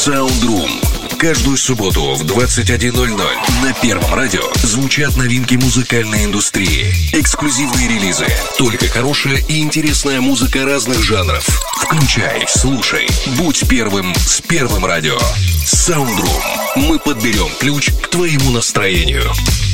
Soundroom. Каждую субботу в 21:00 на Первом радио звучат новинки музыкальной индустрии, эксклюзивные релизы, только хорошая и интересная музыка разных жанров. Включай, слушай, будь первым с Первым радио. Soundroom. Мы подберем ключ к твоему настроению.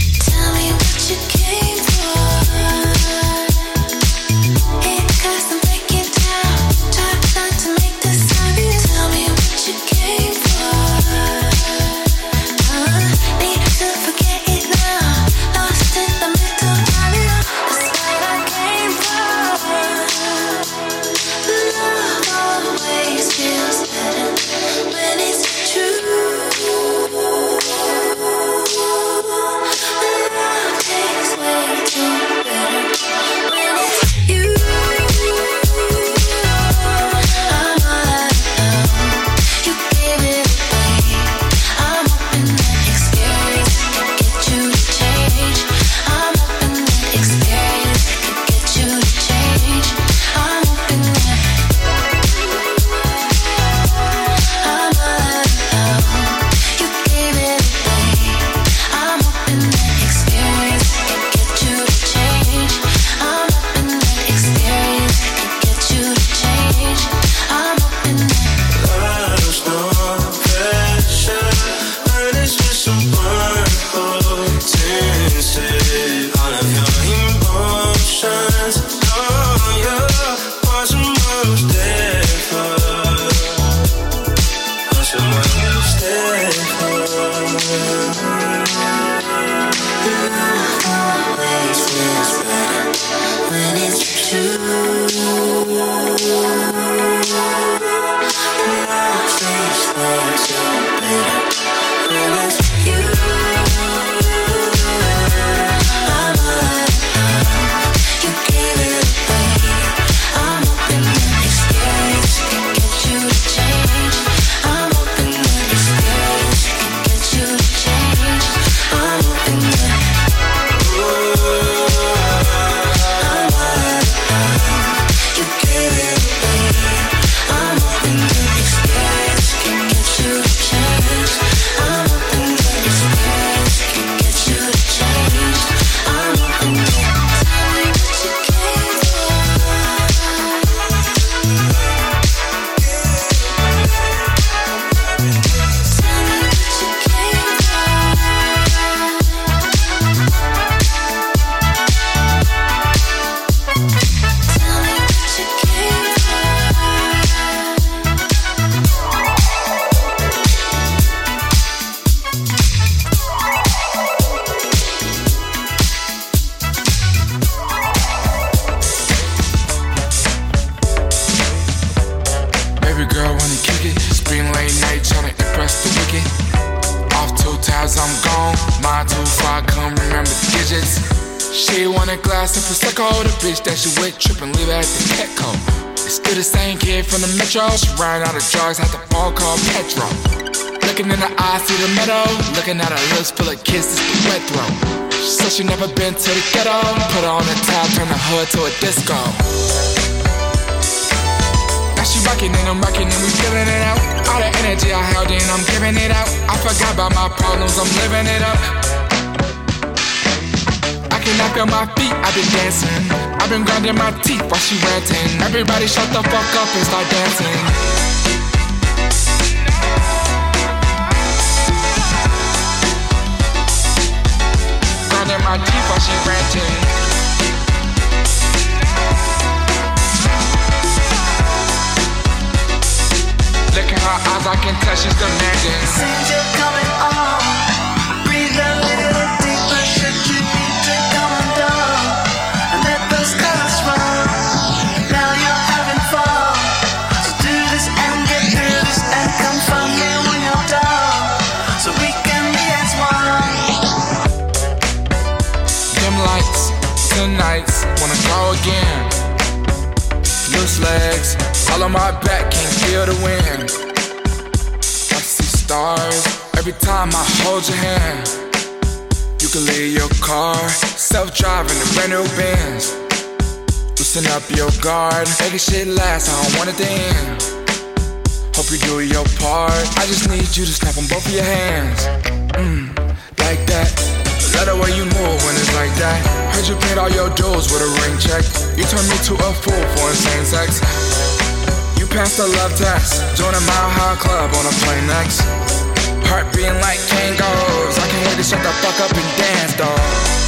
She ran out of drugs, had the ball called Petro. Looking in the eyes, see the meadow. Looking at her lips full of kisses, the wet throat. She said she never been to the ghetto. Put her on the top, turn the hood to a disco. Now she rockin' and I'm rockin' and we feelin' it out. All the energy I held in, I'm giving it out. I forgot about my problems, I'm living it up. I cannot feel my feet, I've been dancing. I've been grinding my teeth while she ranting. Everybody shut the fuck up and start dancing. Grinding my teeth while she ranting. Look at her eyes, I can tell she's demanding. Since you're coming on, breathe a little deeper. Should you need to come undone and let those colors run? Now you're having fun, so do this and get through this and come find me when you're done, so we can be as one. Dim lights, tonight's, wanna go again. Loose legs, all on my back, can't feel the wind. I see stars every time I hold your hand. You can leave your car, self-driving the brand new Benz. Loosen up your guard, make shit last, I don't want it to end. Hope you do your part. I just need you to snap on both of your hands. Like that. Let the way you move when it's like that. Heard you paid all your dues with a ring check. You turned me to a fool for insane sex. You passed the love test. Join a Mile High Club on a plane next. Heart beating like Kangols. I can't wait to shut the fuck up and dance, dawg.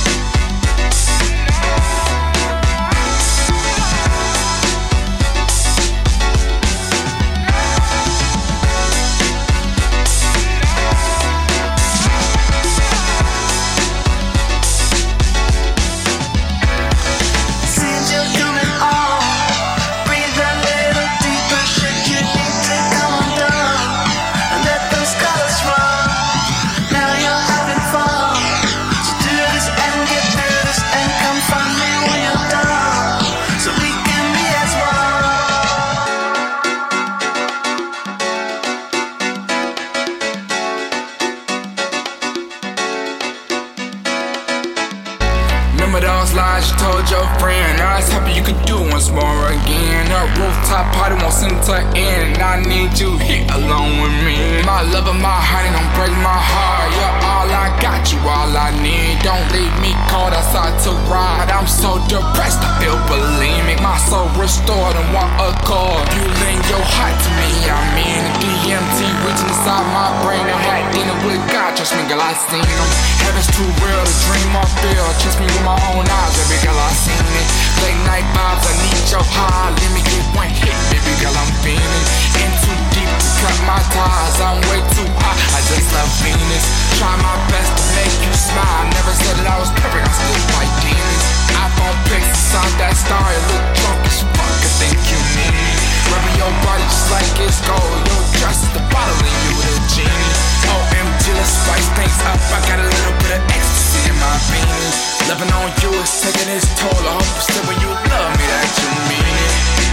Your friend, I was happy you could do once more again. A rooftop party won't seem to end. I need you here alone with me. My love and my heart, don't break my heart. You're all I got, you all I need. Don't leave me cold outside to ride. I'm so depressed, I feel bulimic. My soul restored and want a call. You lend your heart to me, I mean. The DMT reaching inside my brain. I had dinner with God, trust me, girl, I seen him. Heaven's too real to dream or feel. Trust me with my own eyes, baby girl, I seen it. Late night vibes, I need your high. Let me get one hit, baby girl, I'm feeling. In too deep to cut my ties. I'm way too high, I just love Venus. Try my best to make you smile. Never said that I was perfect, I still fight demons. iPhone pics inside that star. You look drunk as fuck, I think you need me. Rubbing your body just like it's gold. Your dress is the bottle and you the genie. OMG, let's spice things up. I got a little bit of ecstasy in my veins. Loving on you is taking its toll. I hope you still when you love me that you mean it.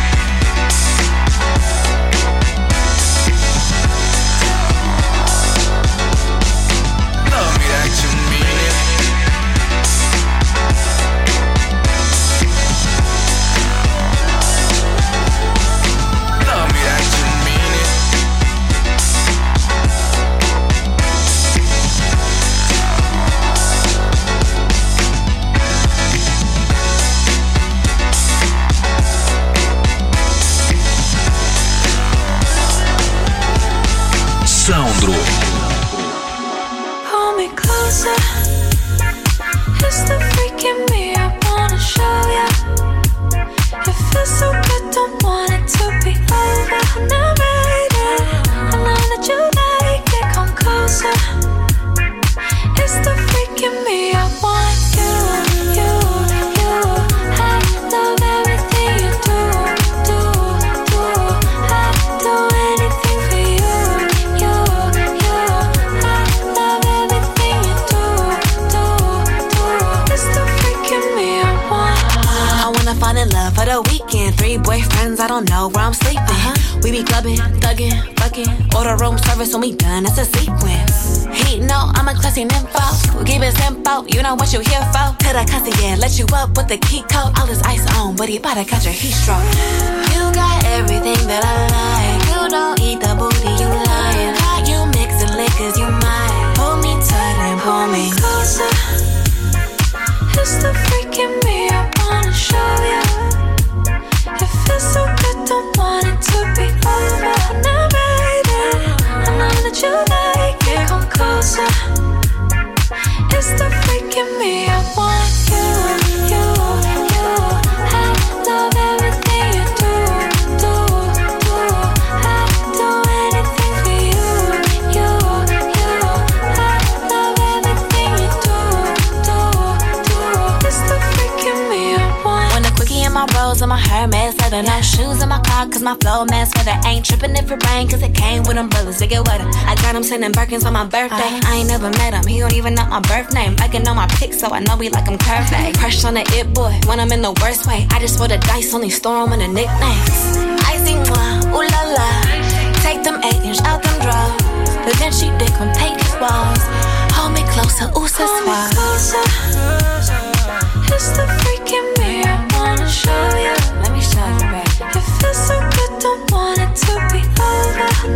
Love me that you mean it. Love me that you mean it. Soundroom. Hold me closer. It's the freak in me I wanna show ya. It feels so good, don't want it to be over. Now baby, I know that you like it, come closer. It's the freak in me I want you. I love everything you do. I'd do anything for you. I love everything you do. It's the freak in me I want. I wanna fall in love for the weekend. 3 boyfriends, I don't know where I'm sleeping. We be clubbing, thugging, fucking. Order room service when we done, it's a sequence. He know I'm a classy nympho. We keep it simple, you know what you here for. To the concierge, let you up with the key code. All this ice on, but he bout to catch a heat stroke. You got everything that I like. You don't eat the booty, you lying. How you mixing liquors, you might. Hold me tight and pull me closer. It's the freak in me I wanna show ya. It feels so good, don't want it to be over. Now baby, I know that you like it, come closer. It's the freak in me I want you. I love everything you do. I'd do anything for you. I love everything you do. It's the freak in me I want. When the quickie in my rolls and my Hermes leather, no shoes in my car cause my flow man's feather. Ain't tripping if it rain cause it came with umbrellas to get wetter. I got him sending Birkins on my birthday. I ain't never met him, he don't even know my birth name. I can know my pics so I know we like him curvy. Crush on the it boy when I'm in the worst way. I just roll the dice, only store him in the nicknames. Icy moi, ooh la la. Take them 8-inch out them drawers. But then she dick on Peyton's walls. Hold me closer, ooh ça Hold me closer. It's the freak in me I wanna show ya. Let me show you, baby. It feels so good, don't want it to be over.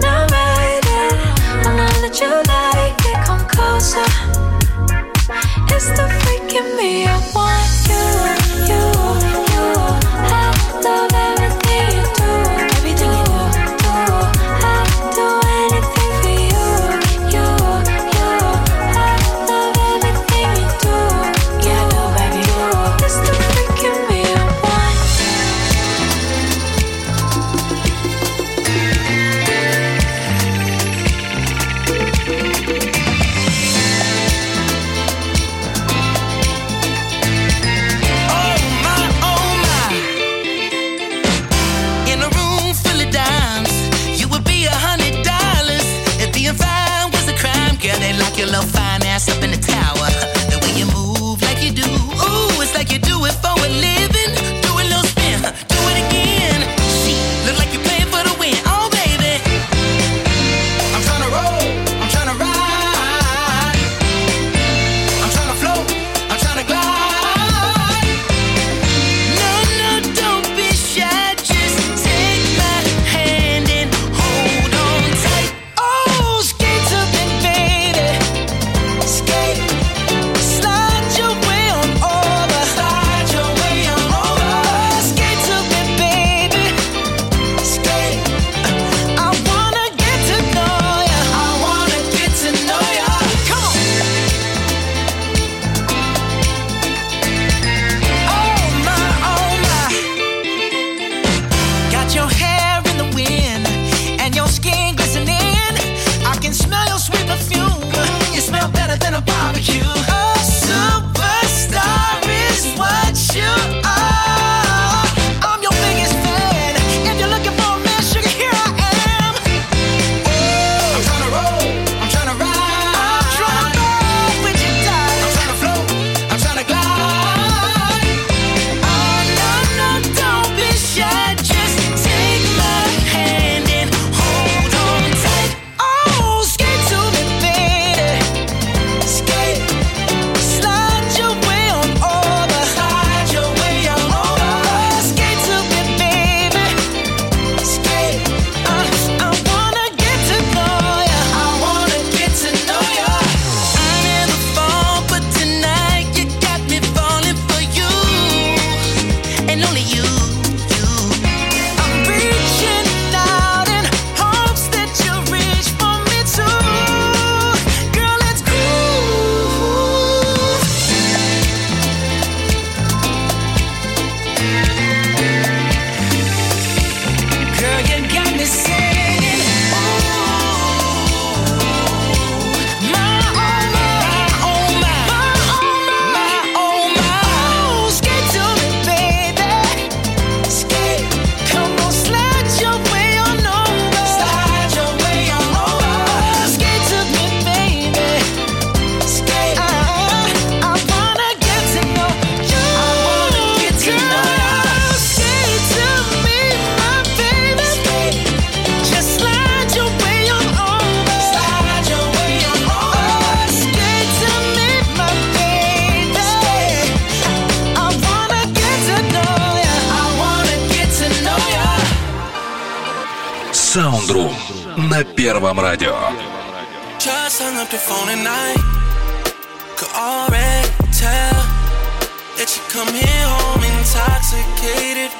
Soundroom на Первом радио. Just hung up the phone at night. Could already tell that you come here home intoxicated.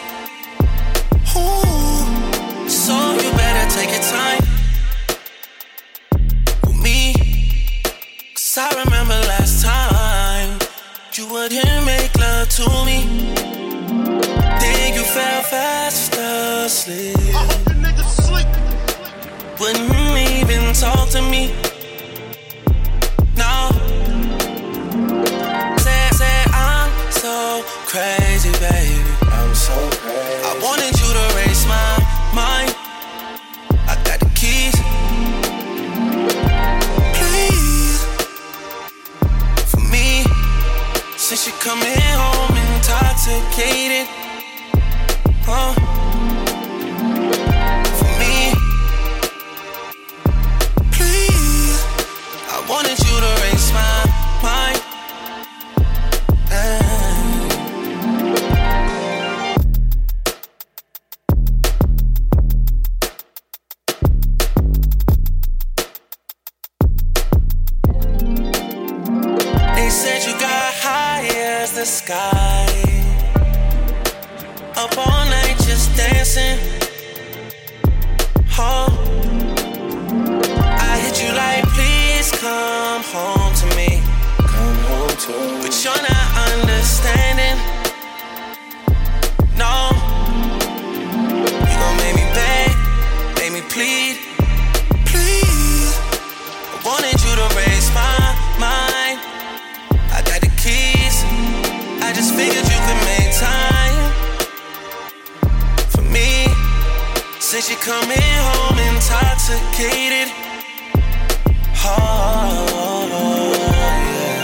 Ooh, so you better take your time with me. 'Cause I remember last time you wouldn't make love to me. Then you fell fast asleep. I hope the niggas sleep. Wouldn't even talk to me. No. Say I'm so crazy, baby. I'm so crazy. I wanted you to raise my mind. I got the keys. Please, for me, since you coming home intoxicated. For me, please, I wanted you to raise my mind. They said you got high as the sky, up all night just dancing. Oh, I hit you like, please come home to me. Come home to me. But you're not understanding. No, you gon' make me beg, make me plead. Please, I wanted you to raise my mind. I got the keys, I just figured you could make time for me. Since you coming home intoxicated. Oh, yeah.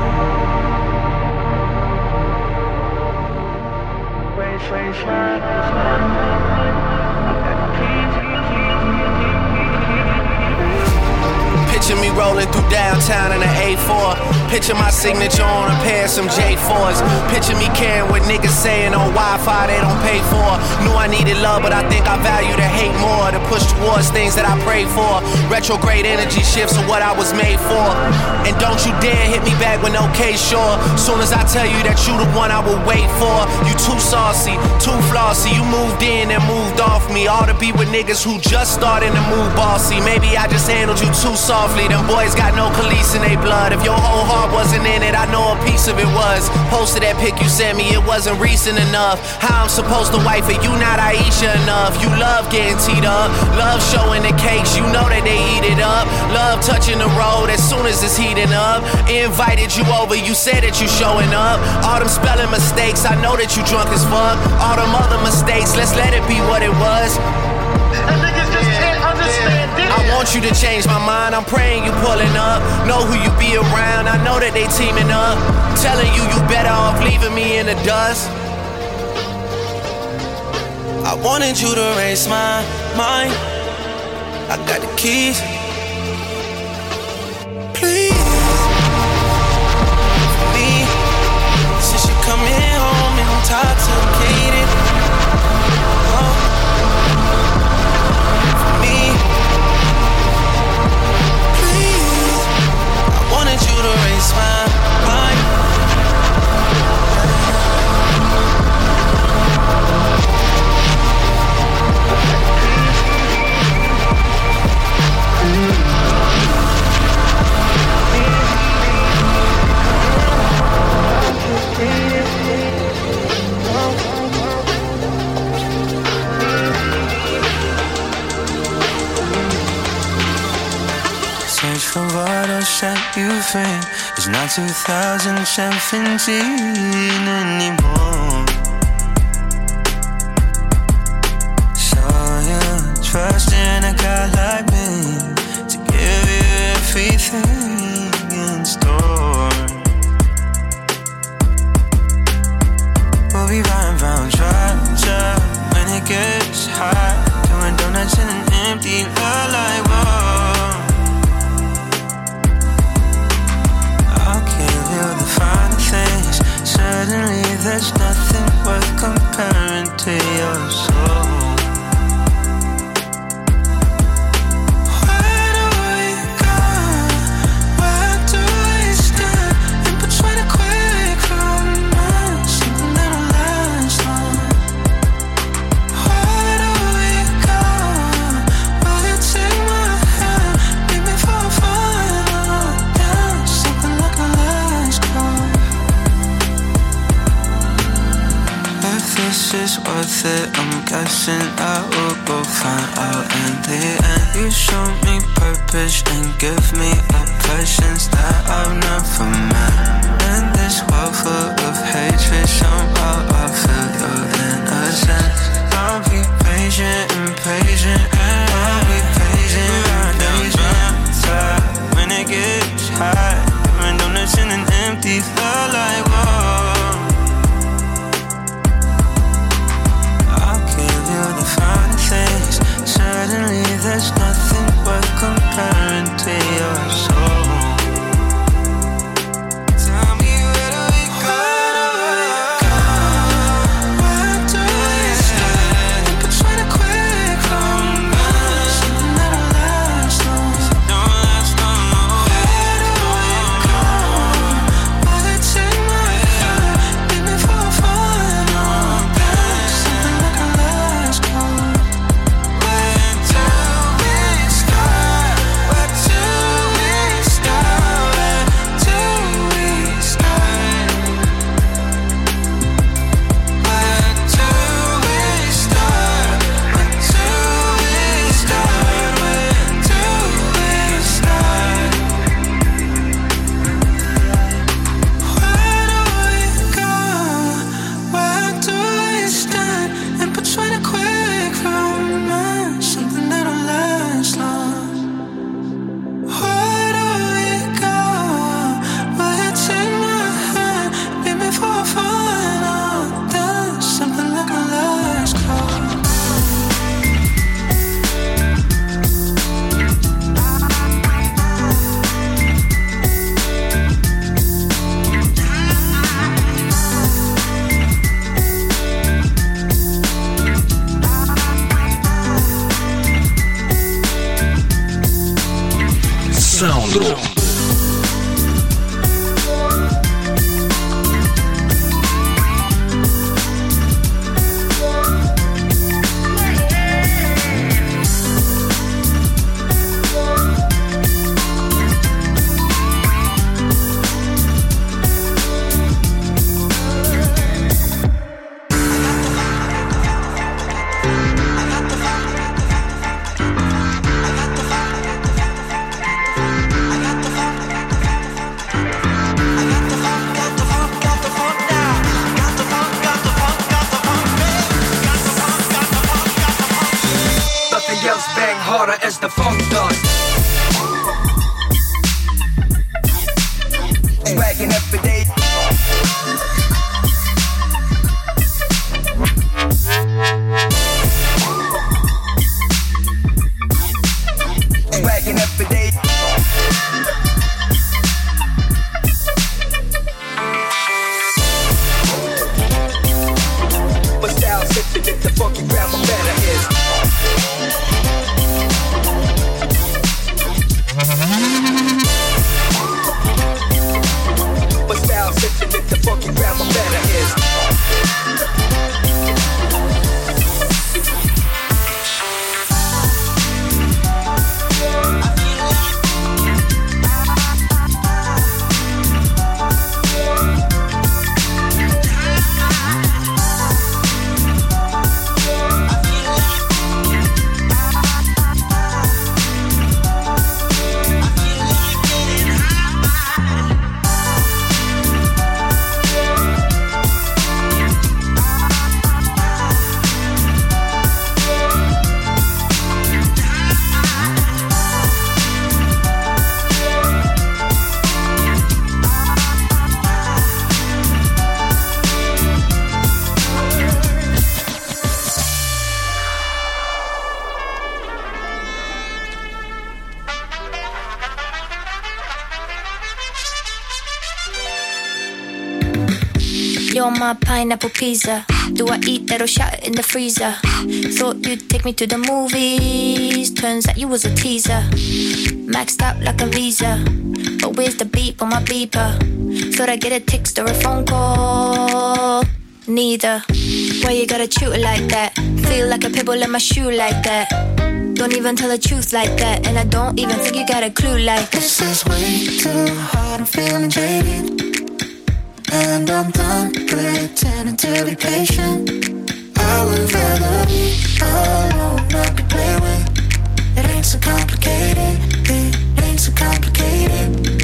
Picture me rolling through downtown in an A4. Picture my signature on a pair of some J4s. Picture me caring what niggas saying on Wi-Fi they don't pay for. Knew I needed love, but I think I value the hate more. To push towards things that I pray for. Retrograde energy shifts are what I was made for. And don't you dare hit me back with no case, sure. Soon as I tell you that you the one I will wait for. You too saucy, too flossy. You moved in and moved off me. All to be with niggas who just starting to move bossy. Maybe I just handled you too softly. Them boys got no police in their blood. If your whole heart wasn't in it, I know a piece of it was. Posted that pic you sent me, it wasn't recent enough. How I'm supposed to wife it, you not Aisha enough. You love getting teed up, love showing the cakes, you know that they eat it up. Love touching the road as soon as it's heating up. Invited you over, you said that you showing up. All them spelling mistakes, I know that you drunk as fuck. All them other mistakes, let's let it be what it was. And niggas just can't understand this. I want you to change my mind, I'm praying you pulling up. Know who you be around, I know that they teaming up. Telling you you better off leaving me in the dust. I wanted you to raise my mind. I got the keys. Please, for me, since you coming home intoxicated. Oh, for me, please, I wanted you to raise my mind. Search for what will set you free. It's not 2017 anymore. So you trust in a guy like me to give you everything in store. We'll be riding round Georgia when it gets hot, doing donuts in an empty lot like whoa. I'll give you the finer things. Suddenly there's nothing worth comparing to your soul. worth it. I'm guessing I will go find out in the end. You show me purpose and give me oppressions that I've never met. In this world full of hatred, somehow I feel your innocence. I'll be patient and patient, and I'll be patient and patient. When it gets hot, even donuts in an empty felt like whoa. I'll give you the fine things. Suddenly there's nothing worth comparing to your soul. Tell me where do we go? Where do we start? Between a quick romance, something that'll last long. Don't last long. Where do we go? Will it take my hand? Leave me for a final dance, something that can last long. Where do we start? Where do we start? Where do we start? Where do we start? Where do we start? Where do we start? Where do we go? Where do we stand? In between a quick romance, something that'll last long. Where do we go? Will it take my hand? Leave me for a final dance, something that can last long. Саундроom. Nothing else bang harder as the funk does. Swagging every day. Swagging every day. But style sensitive to funky grammar better is. But style sensitive to funky grammar better is. You're my pineapple pizza. Do I eat that or shout it in the freezer? Thought you'd take me to the movies. Turns out you was a teaser. Maxed out like a visa. But where's the beep on my beeper? Thought I'd get a text or a phone call. Neither. Why you gotta chew it like that? Feel like a pebble in my shoe like that. Don't even tell the truth like that. And I don't even think you got a clue like This is way too hard, I'm feeling jaded. And I'm done pretending to be patient. I I would rather be alone, not be played with. It ain't so complicated, it ain't so complicated.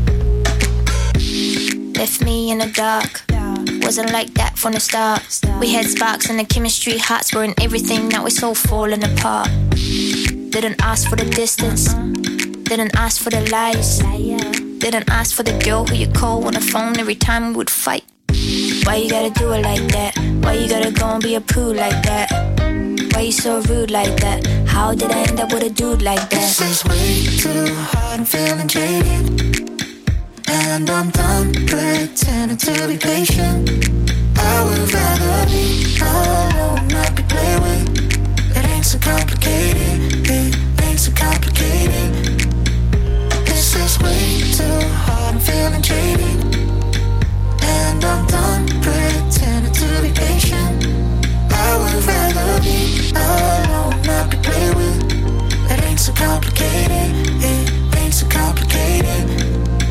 Left me in the dark, wasn't like that from the start. We had sparks and the chemistry hearts were in everything, now it's all falling apart. Didn't ask for the distance, didn't ask for the lies, didn't ask for the girl who you call on the phone every time we would fight. Why you gotta do it like that? Why you gotta go and be a prude like that? Why you so rude like that? How did I end up with a dude like that? This is way too hard, I'm feeling jaded, and I'm done pretending to be patient. I would rather be alone, not be played with. It ain't so complicated, it ain't so complicated. This is way too hard, I'm feeling jaded, and I'm done pretending to be patient. I would rather be alone, not be played with. It ain't so complicated, it ain't so complicated.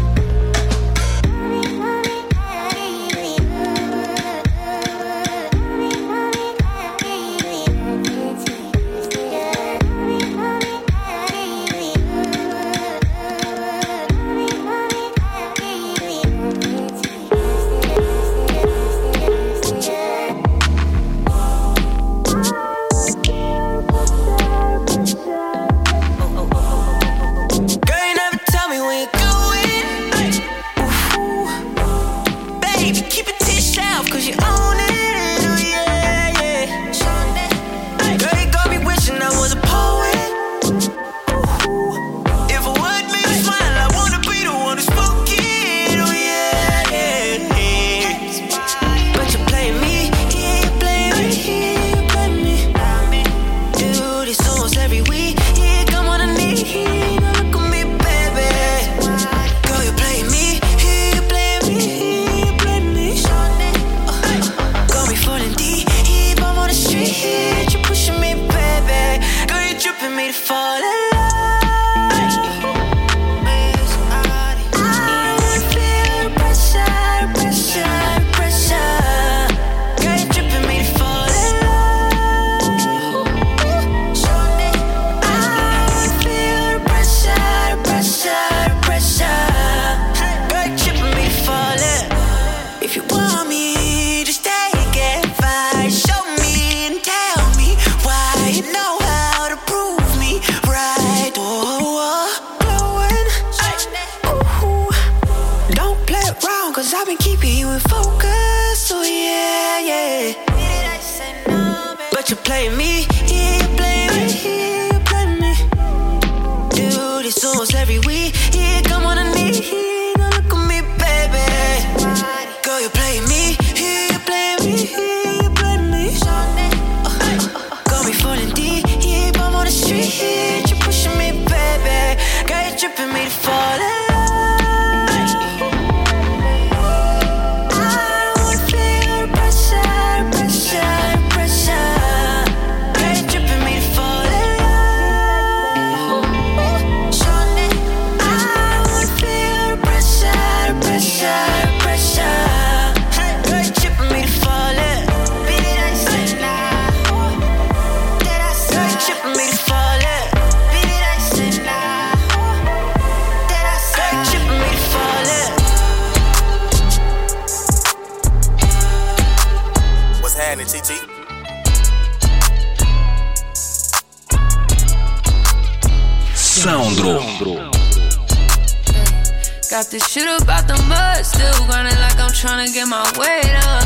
Got this shit about the mud, still grinding like I'm trying to get my weight up.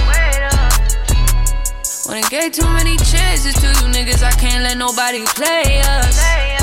When it gave too many chances to you niggas, I can't let nobody play us.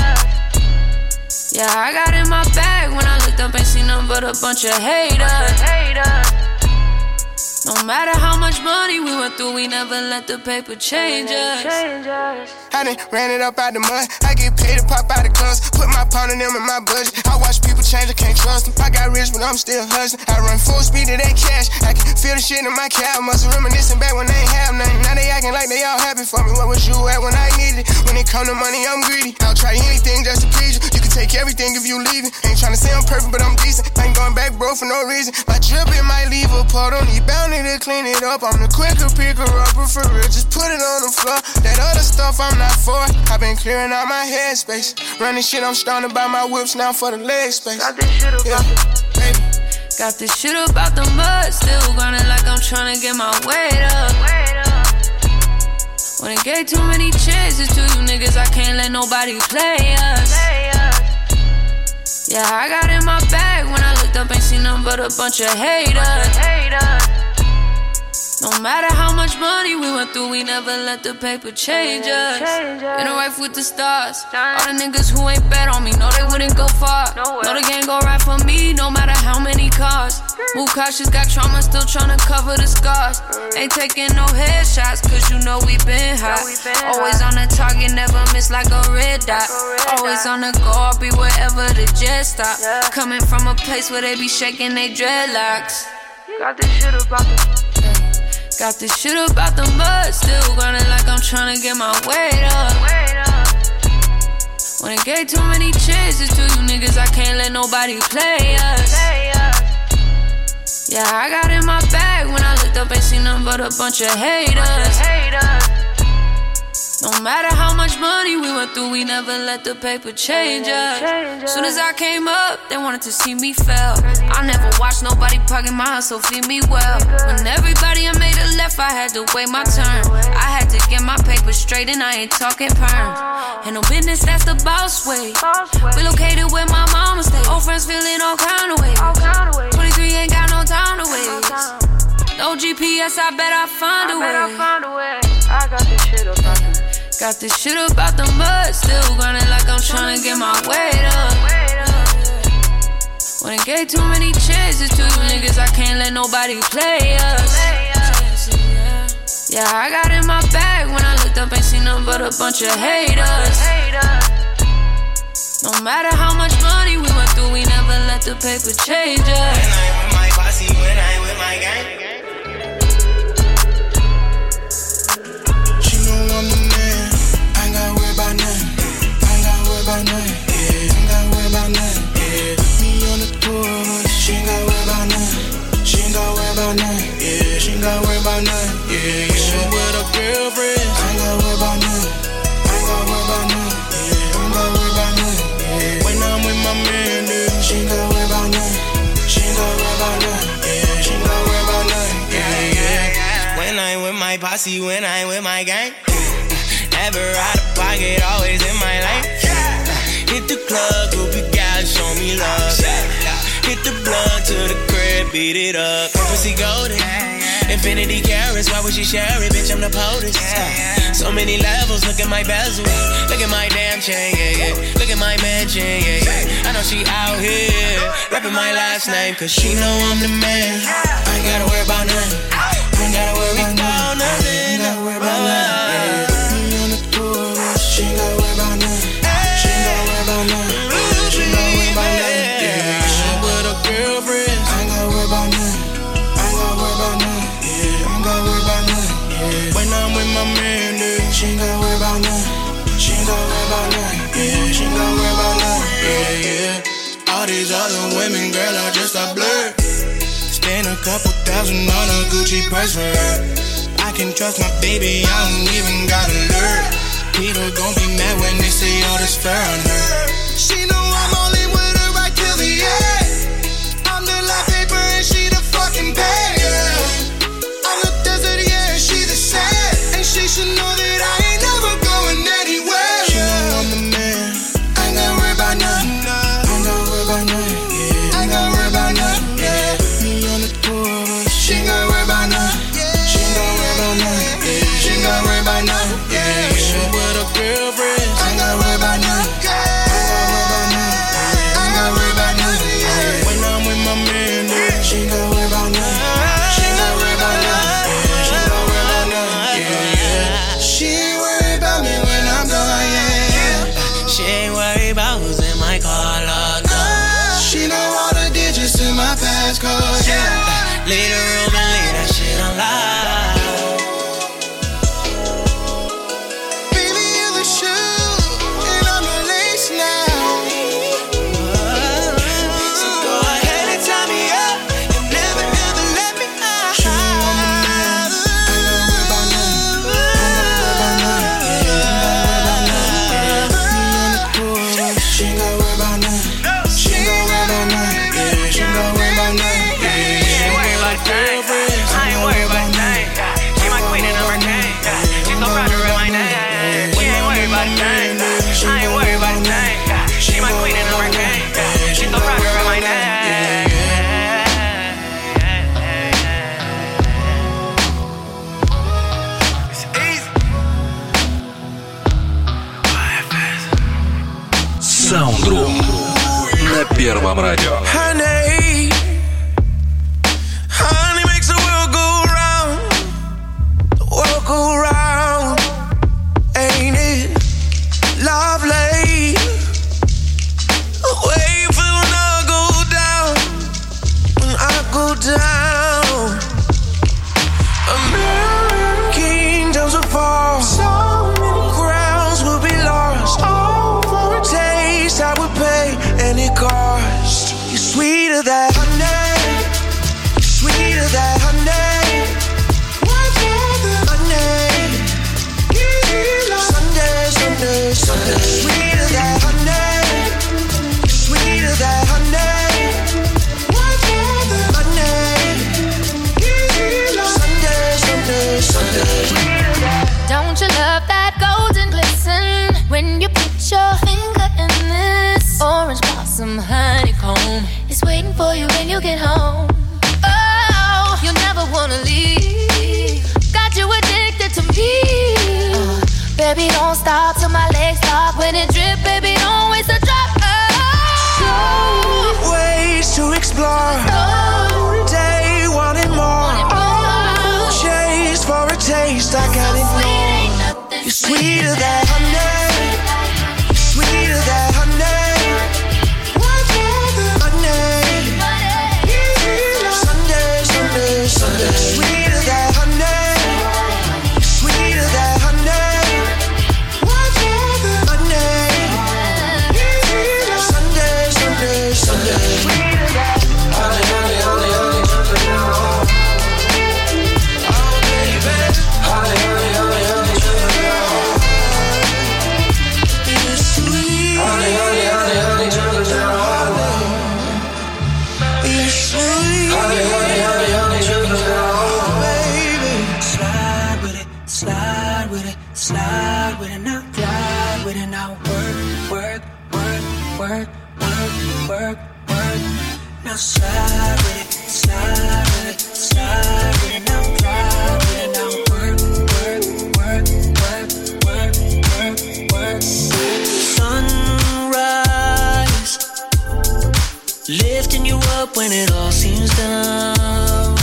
Yeah, I got in my bag when I looked up, ain't seen nothing but a bunch of haters. No matter how much money we went through, we never let the paper change us. I done ran it up out the mud. I get paid to pop out the clubs. Put my pound in them in my budget. I watch people change, I can't trust them. I got rich, but I'm still hustling. I run full speed to that cash. I can feel the shit in my calf. Muscle reminiscing back when they ain't have nothing. Now they acting like they all happy for me. What was you at when I needed it? When it come to money, I'm greedy. I'll try anything just to please you. You can take everything if you leave it. Ain't tryna say I'm perfect, but I'm decent. I ain't going back, bro, for no reason. My drip, it might leave a part. Don't need bounty to clean it up. I'm the quicker picker upper for real. Just put it on the floor. That other stuff I'm not for. I've been clearing out my headspace. Running shit, I'm starting to buy my whips now for the leg space. Got this shit about Got this shit about the mud. Still grinding like I'm trying to get my weight up. When it gave too many chances to you niggas, I can't let nobody play us. Yeah, I got in my bag. When I looked up, ain't seen nothing but a bunch of haters. No matter how much money we went through, we never let the paper change us. In a life with the stars. All the niggas who ain't bet on me know they wouldn't go far. Know the game go right for me, no matter how many cars. Move cautious, got trauma, still tryna cover the scars. Ain't taking no headshots, cause you know we been hot. Always on the target, never miss like a red dot. Always on the go, I'll be wherever the jet stop. Coming from a place where they be shaking they dreadlocks. Got this shit about the Got this shit about the mud. Still grinding like I'm trying to get my weight up. When it gave too many chances to you niggas, I can't let nobody play us. Yeah, I got in my bag. When I looked up, ain't seen nothing but a bunch of haters. No matter how much money we went through, we never let the paper change us. Soon as I came up, they wanted to see me fail. I never watched nobody pocket my hustle, feed me well. When everybody I made a left, I had to wait my turn. I had to get my paper straight and I ain't talking perms. Ain't no business, that's the boss way. We located where my mama stay. Old friends feeling all kind of ways. 23 ain't got no time to waste. No GPS, I bet I find a way. I got this shit about them. Got this shit about the mud. Still grinding like I'm trying to get my weight up. When it gave too many chances to you niggas, I can't let nobody play us. Yeah, I got in my bag. When I looked up, ain't seen nothing but a bunch of haters. No matter how much money we went through, we never let the paper change us. When I with my posse, when I with my gang. I'm the man, I ain't gotta worry about nothing. I ain't gotta worry about nothing. Yeah, I ain't gotta worry about nothing. Yeah, me on the tour, but she ain't gotta worry about nothing. She ain't gotta worry about nothing. Yeah, she ain't gotta worry about nothing. Yeah, yeah. She with her girlfriend. I ain't gotta worry about nothing. I ain't gotta worry about nothing. Yeah, I ain't gotta worry about nothing. Yeah, when I'm with my man, dude, she ain't gotta worry about nothing. She ain't gotta worry about nothing. Yeah, she ain't gotta worry about nothing. Yeah, yeah. When I'm with my posse, when I'm with my gang. Never out of pocket, always in my lane. Hit the club, groupie guys, show me love. Hit the blunt to the crib, beat it up. Pussy golden, infinity carats, why would she share it? Bitch, I'm the POTUS. So many levels, look at my bezel. Look at my damn chain, yeah, yeah. Look at my mansion, yeah, yeah. I know she out here, rapping my last name, cause she know I'm the man. I ain't gotta worry about nothing. I ain't gotta worry about nothing. I ain't gotta worry about nothing. She ain't gotta worry about nothing. She ain't gotta worry about nothing. She ain't gotta worry about nothing. Yeah, she with her girlfriend. I ain't gotta worry about nothing. I ain't gotta worry about nothing. Yeah, I ain't gotta worry about nothing. Yeah, when I'm with my man, dude, she ain't gotta worry about nothing. She ain't gotta worry about nothing. Yeah, she ain't gotta worry about nothing. Yeah, yeah. All these other women, girl, are just a blur. Spend a couple thousand on a Gucci purse for her. I can trust my baby, I don't even gotta learn. People gon' be mad when they say all this fur on her. She know I'm only with her right till the end. I'm the light paper and she the fucking payer. I'm the desert, yeah, and she the sand. And she should know that I ain't never going anywhere. She know I'm the man. I ain't gotta worry about nothing. I ain't gotta worry about nothing. Yeah, I ain't gotta worry about nothing. Yeah, me on the tour, but she ain't gotta worry about nothing. She ain't gotta worry about nothing. Yeah, she ain't gotta worry about nothing. Yeah, yeah. Girlfriend. I ain't gotta worry about nothing. Soundroom на Первом радио. Honey, honey makes the world go round. The world go round. Ain't it lovely? Wait for when I go down. When I go down. A million kingdoms will fall. So many crowns will be lost. All for a taste I would pay any cost. You're sweeter than honey. Sweeter than honey. Honey. Sunday, Sunday, Sunday. Sweeter than honey. Sweeter than honey. Honey. Sunday, Sunday, Sunday. Don't you love that golden glisten when you put your finger in this orange blossom honeycomb? It's waiting for you when you get home. Oh, you'll never wanna leave. Got you addicted to me. Baby, don't stop till my legs stop. When it drip, baby, don't waste a drop. Oh, Ways to explore. Every day, wanting more. Chase for a taste, I got it more. You're sweeter than honey. Sweeter than honey. Honey. Sunday, Sunday, Sunday. Sweeter than honey. Sweeter than honey. Honey. Sunday, Sunday, Sunday. Honey, honey, honey, honey, honey. Oh, baby. Honey, honey, honey, honey, honey. You're sweet. Honey, honey, honey, honey, honey. You're sweet. Honey, honey, honey, honey, honey. Baby. Slide with it, slide with it, slide with it now. Glide with it now. Work, work, work, work, work, work, work. Now slide with it, slide with it, slide with it now. Glide with it now. Work, work, work, work, work, work, work. Sunrise, lifting you up when it all seems down.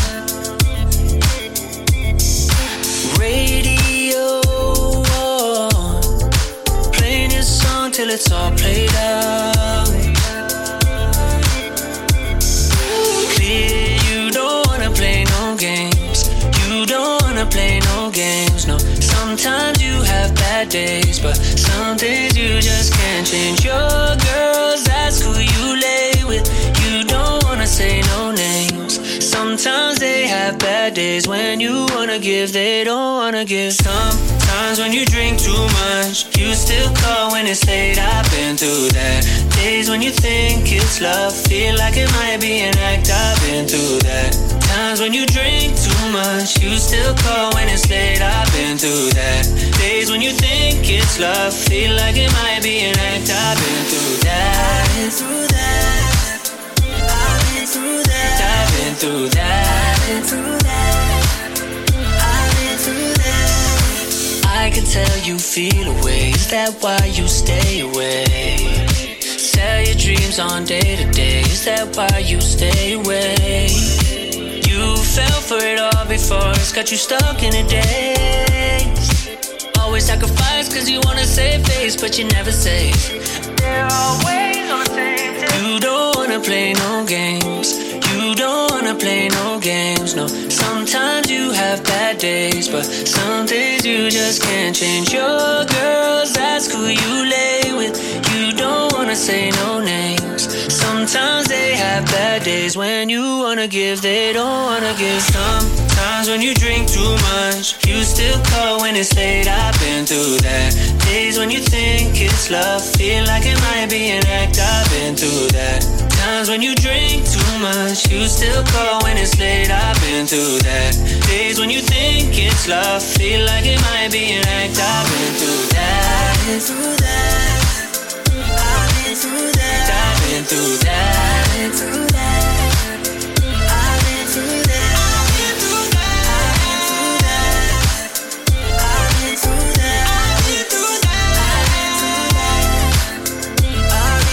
Radio on, playing this song till it's all played out. Clear, you don't wanna play no games. You don't wanna play no games, no. Sometimes you have bad days, but some days you just can't change. Your girls, ask who you lay with. You don't wanna say no names. Sometimes they have bad days. When you wanna give, they don't wanna give. Sometimes when you drink too much, you still call when it's late. I've been through that. Days when you think it's love, feel like it might be an act. I've been through that. Times when you drink too much, you still call when it's late. I've been through that. Days when you think it's love, feel like it might be an act. I've been through that. I've been through that. I've been through that. I've been through that. I've been through that. I've been through that. I can tell you feel away. Is that why you stay away? Sell your dreams on day to day. Is that why you stay away? You fell for it all before. It's got you stuck in a daze. Always sacrifice cause you wanna save face, but you never save. They're always on the same day. You don't wanna play no games. You don't wanna play no games, no. Sometimes you have bad days, but some days you just can't change. Your girls, ask who you lay with. You don't wanna say no names. Sometimes they have bad days. When you wanna give, they don't wanna give. Sometimes when you drink too much, you still call when it's late. I've been through that. Days when you think it's love, feel like it might be an act. I've been through that. Times when you drink too much, you still call when it's late. I've been through that. Days when you think it's love, feel like it might be an act. I've been through that. I've been through that. I've been through that. I've been through that. I've been through that. I've been through that. I've been through that.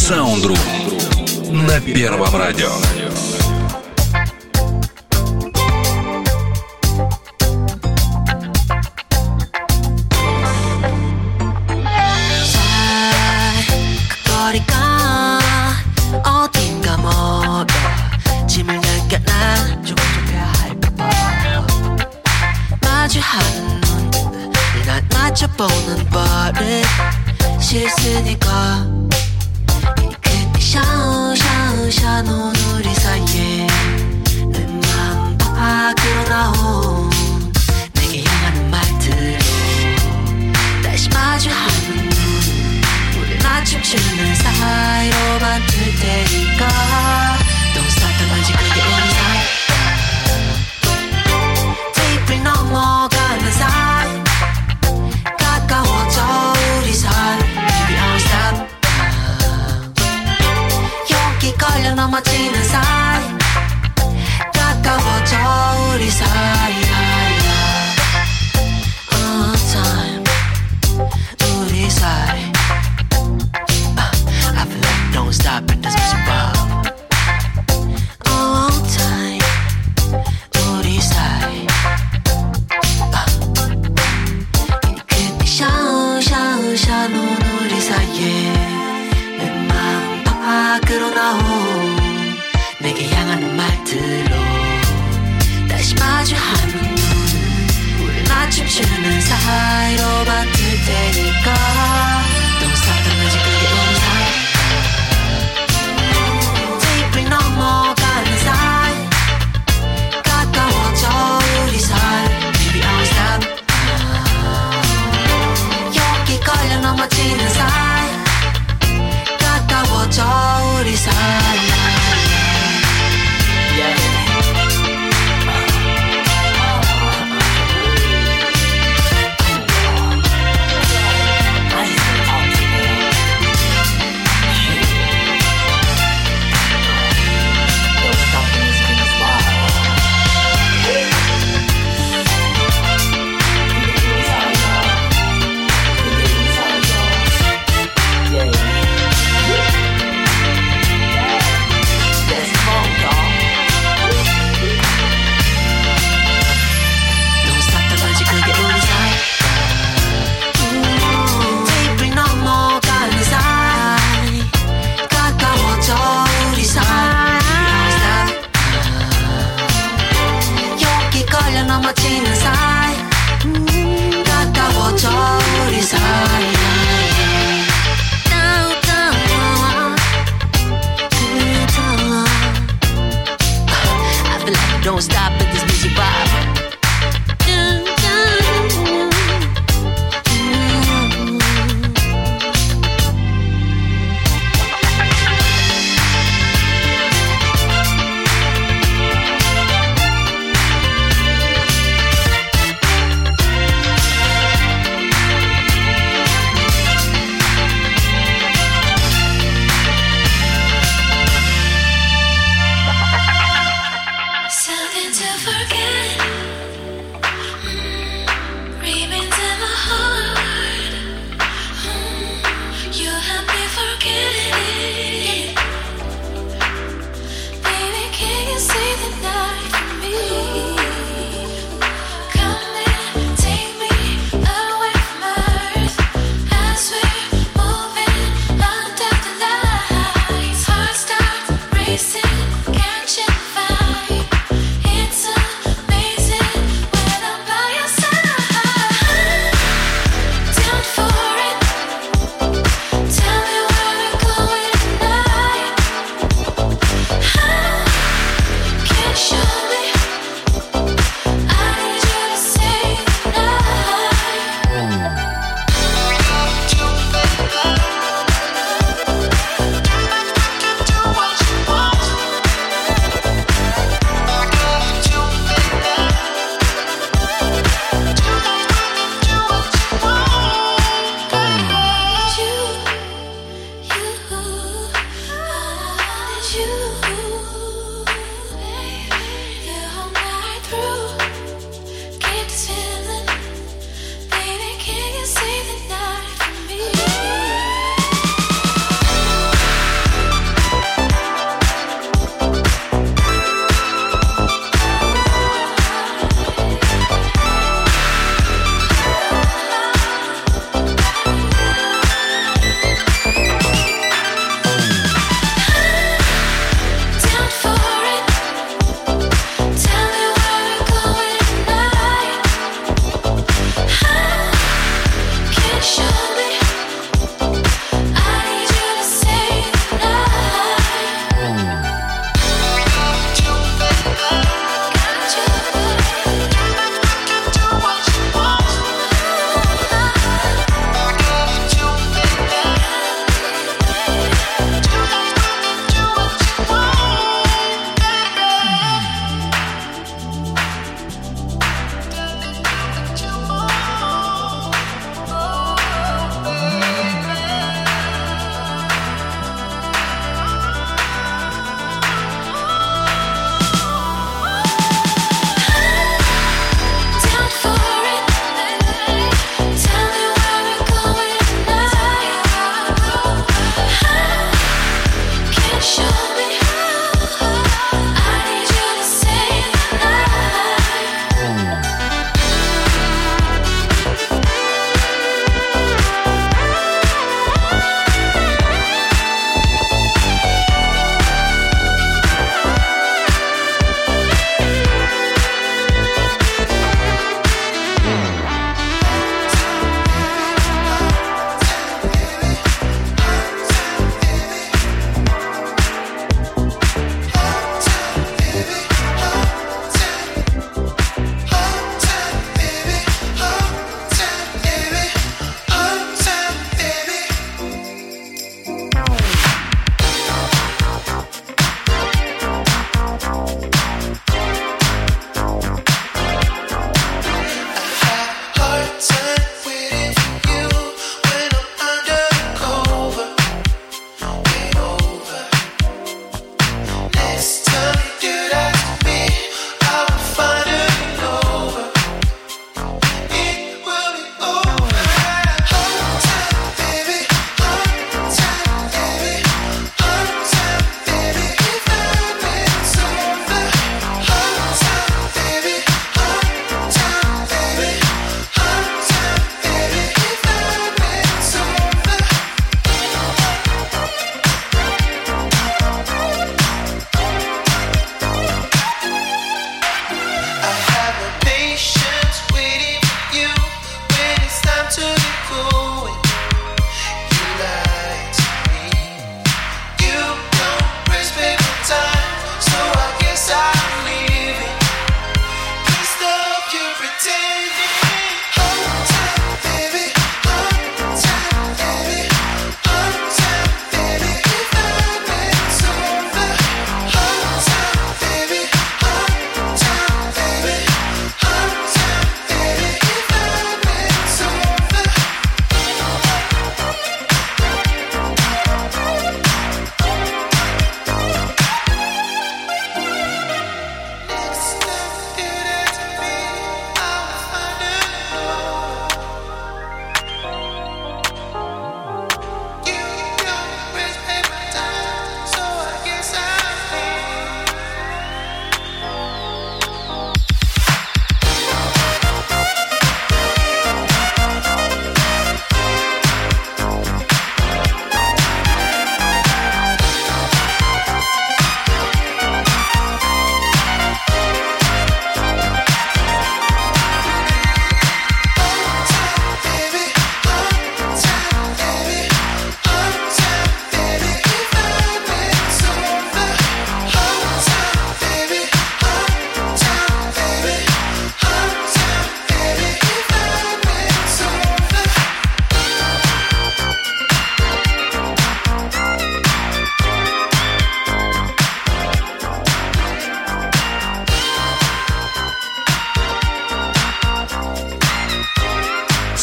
Sound Room на Первом радио. 거리가 어딘가 멀어 짐을 느껴 난 조급해야 할까봐 마주하는 눈들 날 맞춰보는 버릇 실수니까 이 끝이 샤우샤우샤 노는 우리 사이에 내 맘 밖으로 나온 내게 향하는 말들로 다시 마주하는 춤추는 사이로 만들 테니까 Don't stop 당연히 그게 우리 사이 테이프를 넘어가는 사이 가까워져 우리 사이 Baby don't stop 여기 걸려 넘어지는 사이 가까워져 우리 사이 time 우리 사이 Don't stop and just push it up all time 우리 사이 이 끝이 샤우샤우샤 노는 우리 사이에 내 마음 밖으로 나온 내게 향하는 말들로 다시 마주하는 눈 우리 맞춤추는 사이로 만들 테니까 Don't stop 당연히 그게 우리 사이 넘어가는 사이 가까워져 우리 사이 Baby don't stop 여기 걸려 넘어지는 사이 가까워져 우리 사이 I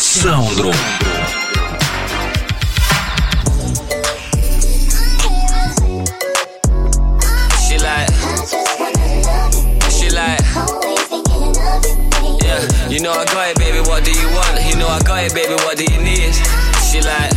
Soundroom. You know I got it, baby, what do you want? You know I got it, baby, what do you need? She like,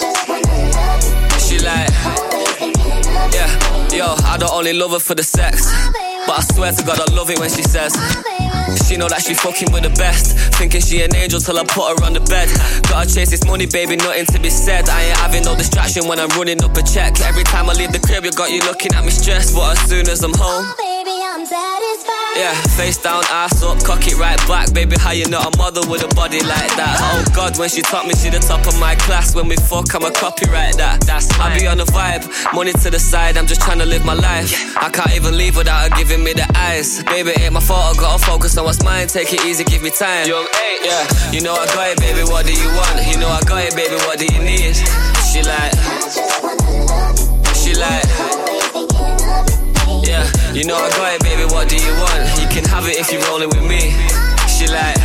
yeah, yo, I don't only love her for the sex, but I swear to God I love it when she says she know that she fucking with the best, thinking she an angel till I put her on the bed. Gotta chase this money, baby, nothing to be said. I ain't having no distraction when I'm running up a check. Every time I leave the crib, you got you looking at me stressed, but as soon as I'm home, baby, I'm satisfied. yeah, face down, ass up, cock it right back. Baby, how you not a mother with a body like that? Oh God, when she taught me, she the top of my class. When we fuck, I'm a copyright that. That's I be on the vibe, money to the side, I'm just trying to live my life. I can't even leave without her giving me the eyes. Baby, ain't my fault, I gotta focus on what's mine. Take it easy, give me time. Young 8, yeah, you know I got it, baby, what do you want? You know I got it, baby, what do you need? She like, yeah, you know I got it, baby, what do you want? You can have it if you're rolling with me. She like,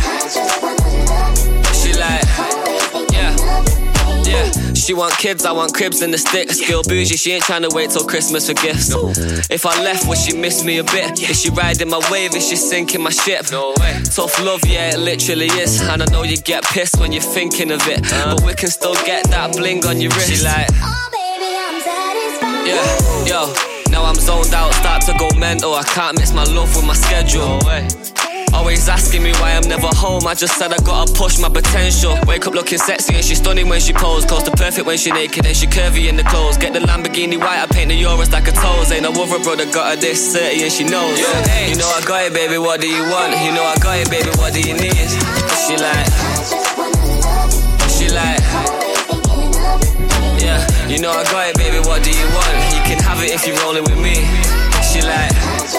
yeah. She want kids, I want cribs and the sticks. Girl bougie, she ain't trying to wait till Christmas for gifts. No. If I left, would she miss me a bit? Is she riding my wave? Is she sinking my ship? No way. Tough love, yeah, it literally is. And I know you get pissed when you're thinking of it, but we can still get that bling on your wrist. She like, oh baby, I'm satisfied. yeah, yo. Now I'm zoned out, start to go mental. I can't mix my love with my schedule. No way. Always asking me why I'm never home. I just said I gotta push my potential. Wake up looking sexy and she's stunning when she pose. Close to perfect when she naked and she curvy in the clothes. Get the Lamborghini white, I paint the Euros like a toes. Ain't no other brother got her this 30 and she knows. Yeah. You know I got it, baby, what do you want? You know I got it, baby, what do you need? She like, yeah, you know I got it, baby, what do you want? You can have it if you're rolling with me. She like,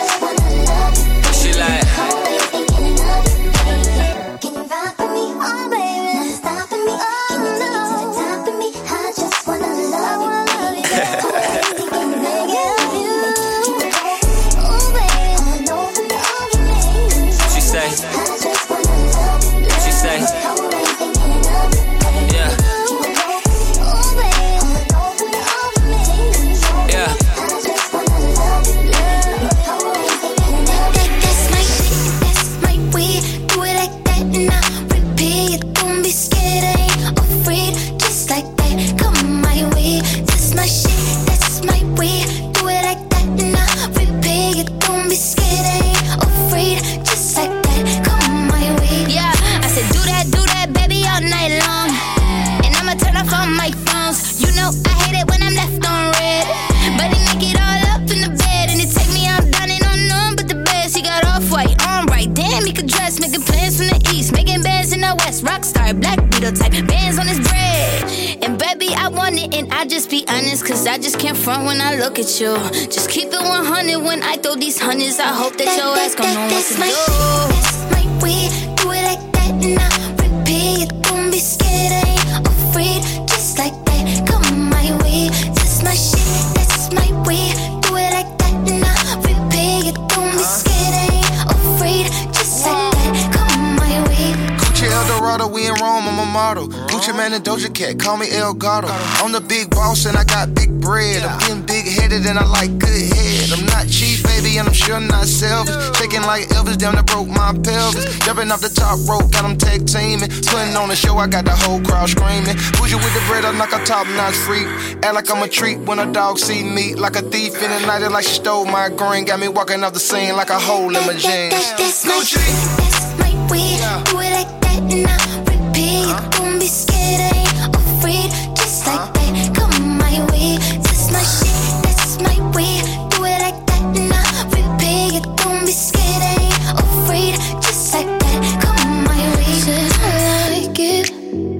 I just can't front when I look at you. Just keep it 100 when I throw these hundreds. I hope that your ass gon' know what to do. That's my way, do it like that and I repeat. Don't be scared, I ain't afraid. Just like that, come my way. That's my shit, that's my way. Do it like that and I repeat. Don't be scared, I ain't afraid. Just like that, come my way. Gucci Eldorado, we in Rome, I'm a model. Gucci Man and Doja Cat, call me El Gato. I'm the big boss and I got big bread. I'm getting big-headed and I like good head. I'm not cheap, baby, and I'm sure not selfish. Shaking like Elvis, down to broke my pelvis. Jumping off the top rope, got them tag teaming. Putting on a show, I got the whole crowd screaming. Bougie with the bread, I'm like a top-notch freak. Act like I'm a treat when a dog see me. Like a thief in the night, like she stole my green. Got me walking off the scene like a hole in my jeans. That's my shit, that's my way. Do it like that and I repeat. Don't be scared, I ain't afraid. Just like that, come my way. That's my shit, that's my way. Do it like that and I repeat. Don't be scared, I ain't afraid. Just like that, come my way. Said I like it,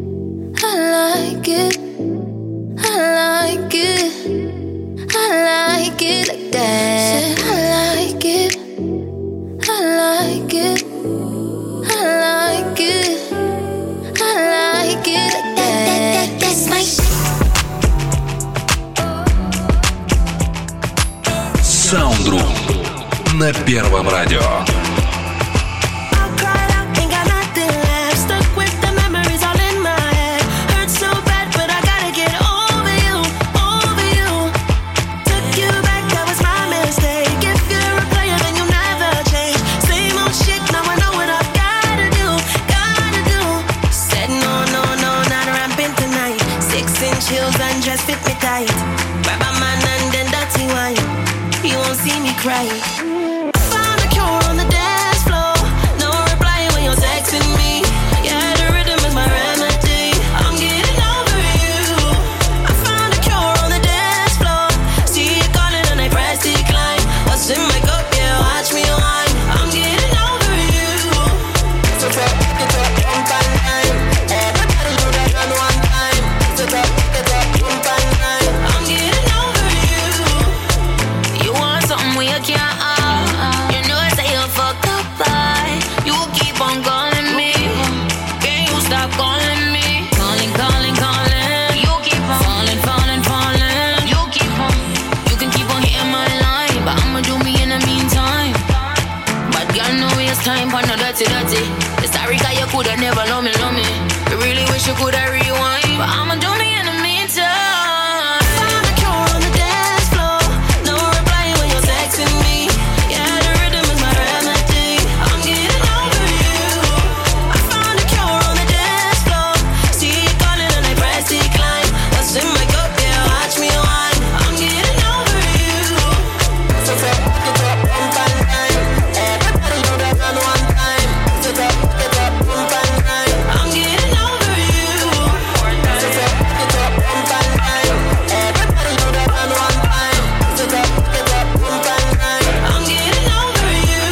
I like it, I like it, I like it like that. Said I like it, I like it, I like it, I like it like that. That's my shit. Soundroom на Первом радио. Ain't got nothing left. Stuck with the memories all in my chills and just fit me tight. Grab a man and then dirty wine. You won't see me crying. Found a cure on the dance floor. No reply when you're texting me. Yeah, the rhythm is my remedy. I'm getting over you. I found a cure on the dance floor. See you calling and I press decline. What's in my cup? Yeah, watch me wine. I'm getting over you. So get up, jump and climb. Everybody know that on one time. So get up, jump and climb. I'm getting over you. You want something we can't have. You know I say you fucked up, boy. You keep on calling me. Can you stop calling me? Calling, calling, calling. You keep on falling, falling, falling. You keep on. You can keep on hitting my line, but I'ma do me in the meantime. But girl, no waste time for no dirty, dirty. It's sorry 'cause you coulda never love me, love me. I really wish you coulda rewind, but I'ma do me in the meantime. Found a cure on the dance floor. No reply when you're texting me. Yeah, the rhythm is my remedy. I'm getting over you. I found a cure on the dance floor. See you calling and I press decline. What's in my cup? Yeah, watch me wine. I'm getting over you. So get up, jump and climb. Everybody know that on one time. So get up, jump and climb. I'm getting over you. So get up, jump and climb. Everybody know that on one time. So get up, jump and climb. I'm getting over you.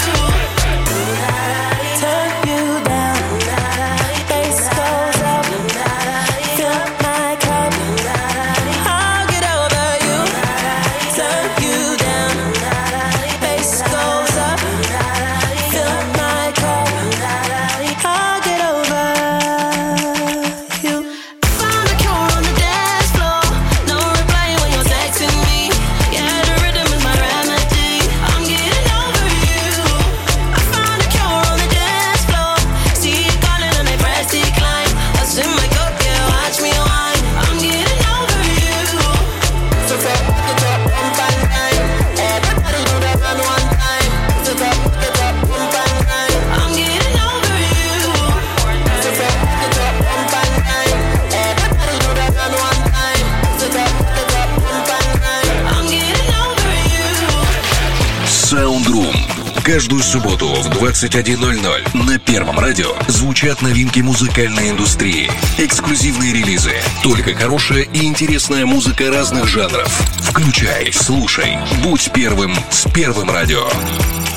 Turn you down. Bass goes up. Fill my cup. I'll get over you. Turn you down. Bass goes up. Fill my cup. I'll get over you. Found a cure on the dance floor. No reply when you're texting me. Yeah, the rhythm is my remedy. I'm getting over you. I found a cure on the dance floor. See you calling and I press decline. What's in my cup? Yeah, watch me wine. I'm getting over you. So get up, jump and climb. Everybody know that on one time. So get up, jump and climb. I'm getting over you. So get up, jump and climb. Everybody know that on one time. So get up, jump and climb. I'm getting over you. Soundroom. Каждую субботу в 21:00 на Первом радио звучат новинки музыкальной индустрии, эксклюзивные релизы, только хорошая и интересная музыка разных жанров. Включай, слушай, будь первым с Первым радио.